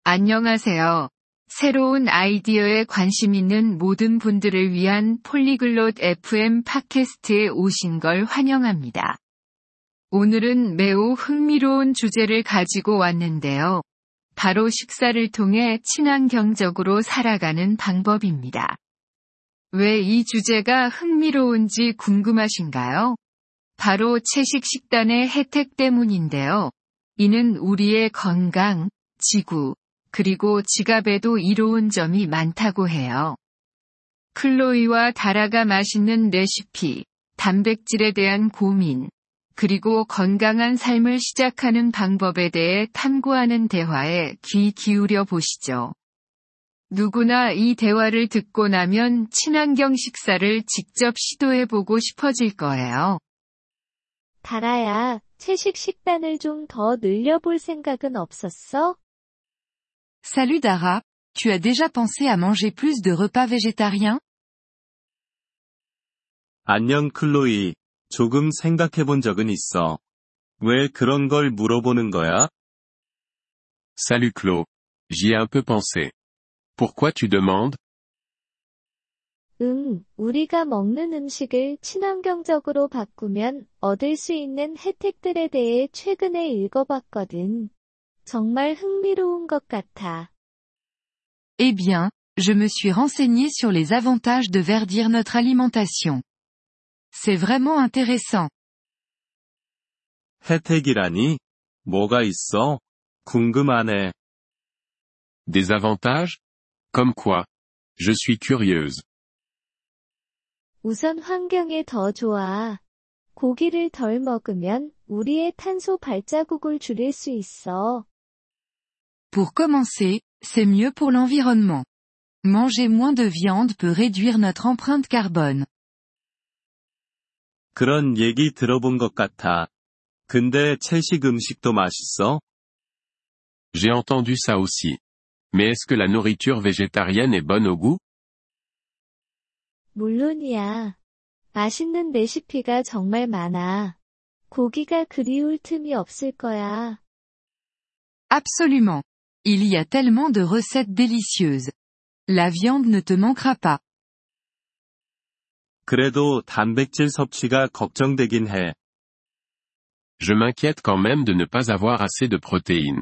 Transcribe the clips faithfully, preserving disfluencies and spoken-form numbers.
안녕하세요. 새로운 아이디어에 관심 있는 모든 분들을 위한 폴리글롯 에프엠 팟캐스트에 오신 걸 환영합니다. 오늘은 매우 흥미로운 주제를 가지고 왔는데요. 바로 식사를 통해 친환경적으로 살아가는 방법입니다. 왜 이 주제가 흥미로운지 궁금하신가요? 바로 채식 식단의 혜택 때문인데요. 이는 우리의 건강, 지구, 그리고 지갑에도 이로운 점이 많다고 해요. 클로이와 다라가 맛있는 레시피, 단백질에 대한 고민, 그리고 건강한 삶을 시작하는 방법에 대해 탐구하는 대화에 귀 기울여 보시죠. 누구나 이 대화를 듣고 나면 친환경 식사를 직접 시도해보고 싶어질 거예요. 다라야, 채식 식단을 좀 더 늘려볼 생각은 없었어? Salut Dara, tu as déjà pensé à manger plus de repas végétariens? 안녕 클로이, 조금 생각해본 적은 있어. 왜 그런 걸 물어보는 거야? Salut Claude. J'y ai un peu pensé. Pourquoi tu demandes? 응, 우리가 먹는 음식을 친환경적으로 바꾸면 얻을 수 있는 혜택들에 대해 최근에 읽어봤거든. 정말 흥미로운 것 같아. Eh bien, je me suis renseigné sur les avantages de verdir notre alimentation. C'est vraiment intéressant. 혜택이라니? 뭐가 있어? 궁금하네. Des avantages? Comme quoi? Je suis curieuse. 우선 환경에 더 좋아. 고기를 덜 먹으면 우리의 탄소 발자국을 줄일 수 있어. Pour commencer, c'est mieux pour l'environnement. Manger moins de viande peut réduire notre empreinte carbone. 그런 얘기 들어본 것 같아. 근데 채식 음식도 맛있어? J'ai entendu ça aussi. Mais est-ce que la nourriture végétarienne est bonne au goût? 물론이야. 맛있는 레시피가 정말 많아. 고기가 그리울 틈이 없을 거야. Absolument. Il y a tellement de recettes délicieuses. La viande ne te manquera pas. 그래도 단백질 섭취가 걱정되긴 해. Je m'inquiète quand même de ne pas avoir assez de protéines.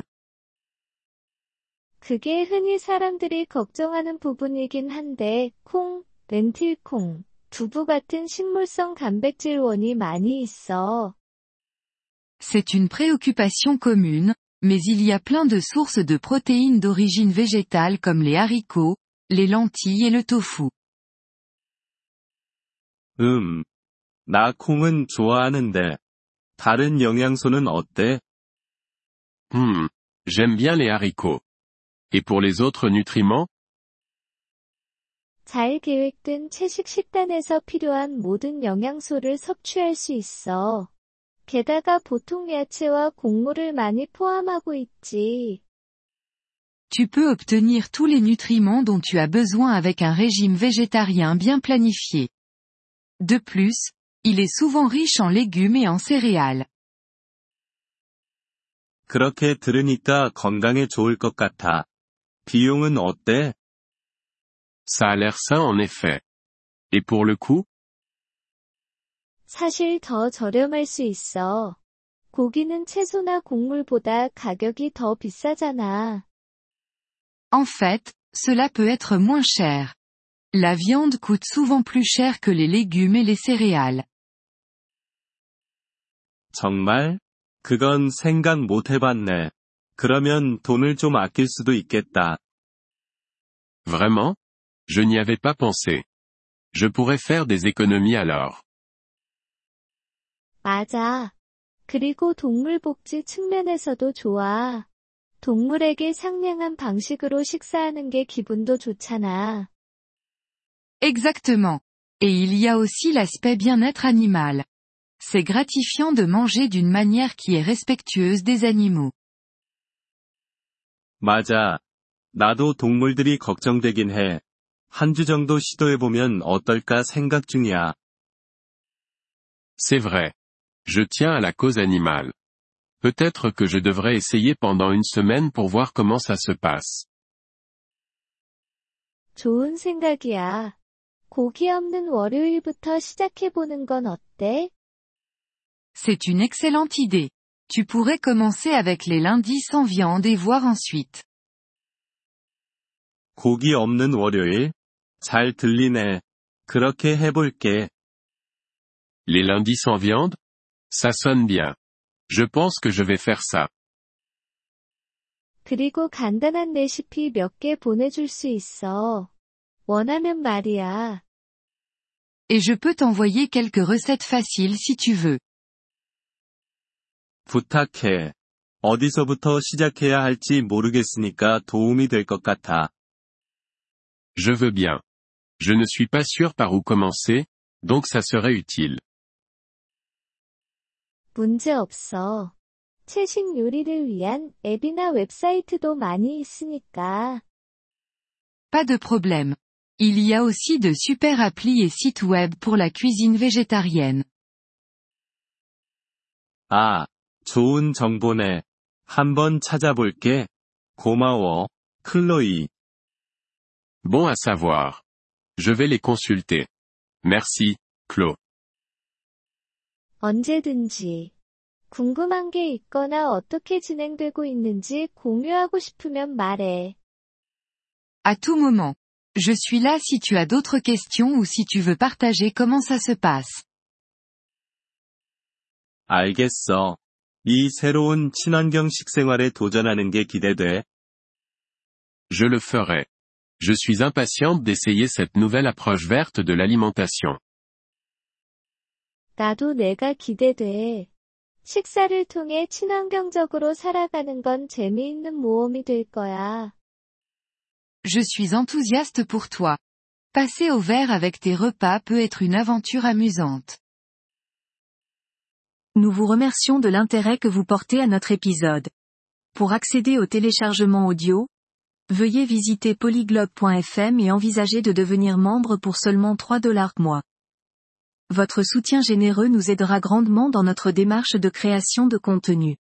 그게 흔히 사람들이 걱정하는 부분이긴 한데, 콩, 렌틸콩, 두부 같은 식물성 단백질원이 많이 있어. C'est une préoccupation commune, mais il y a plein de sources de protéines d'origine végétale comme les haricots, les lentilles et le tofu. 음. 나 콩은 좋아하는데. 다른 영양소는 어때? Hmm. J'aime bien les haricots. Et pour les autres nutriments? 잘 계획된 채식 식단에서 필요한 모든 영양소를 섭취할 수 있어. 게다가 보통 야채와 곡물을 많이 포함하고 있지. Tu peux obtenir tous les nutriments dont tu as besoin avec un régime végétarien bien planifié. De plus, il est souvent riche en légumes et en céréales. 그렇게 들으니까 건강에 좋을 것 같아. 비용은 어때? Ça a l'air sain en effet. Et pour le coût? 사실 더 저렴할 수 있어. 고기는 채소나 곡물보다 가격이 더 비싸잖아. En fait, cela peut être moins cher. La viande coûte souvent plus cher que les légumes et les céréales. 정말? 그건 생각 못 해봤네. 그러면 돈을 좀 아낄 수도 있겠다. Vraiment? Je n'y avais pas pensé. Je pourrais faire des économies alors. 맞아. 그리고 동물 복지 측면에서도 좋아. 동물에게 상냥한 방식으로 식사하는 게 기분도 좋잖아. Exactement. Et il y a aussi l'aspect bien-être animal. C'est gratifiant de manger d'une manière qui est respectueuse des animaux. 맞아. 나도 동물들이 걱정되긴 해. 한 주 정도 시도해보면 어떨까 생각 중이야. C'est vrai. Je tiens à la cause animale. Peut-être que je devrais essayer pendant une semaine pour voir comment ça se passe. 좋은 생각이야. 고기 없는 월요일부터 시작해보는 건 어때? C'est une excellente idée. Tu pourrais commencer avec les lundis sans viande et voir ensuite. 고기 없는 월요일? 잘 들리네. 그렇게 해볼게. Les lundis sans viande? Ça sonne bien. Je pense que je vais faire ça. 그리고 간단한 레시피 몇 개 보내줄 수 있어. 원하면 말이야. Et je peux t'envoyer quelques recettes faciles si tu veux. 부탁해. 어디서부터 시작해야 할지 모르겠으니까 도움이 될 것 같아. Je veux bien. Je ne suis pas sûr par où commencer, donc ça serait utile. 문제 없어. 최신 요리를 위한 앱이나 웹사이트도 많이 있으니까. Pas de problème. Il y a aussi de super applis et sites web pour la cuisine végétarienne. 아, 좋은 정보네. 한번 찾아볼게. 고마워, 클로이. Bon à savoir. Je vais les consulter. Merci, Chloe. 언제든지. 궁금한 게 있거나 어떻게 진행되고 있는지 공유하고 싶으면 말해. À tout moment. Je suis là si tu as d'autres questions ou si tu veux partager comment ça se passe. 알겠어. 이 새로운 친환경 식생활에 도전하는 게 기대돼. Je le ferai. Je suis impatiente d'essayer cette nouvelle approche verte de l'alimentation. 나도 내가 기대돼. 식사를 통해 친환경적으로 살아가는 건 재미있는 모험이 될 거야. Je suis enthousiaste pour toi. Passer au vert avec tes repas peut être une aventure amusante. Nous vous remercions de l'intérêt que vous portez à notre épisode. Pour accéder au téléchargement audio, veuillez visiter polyglobe point f m et envisager de devenir membre pour seulement trois dollars mois. Votre soutien généreux nous aidera grandement dans notre démarche de création de contenu.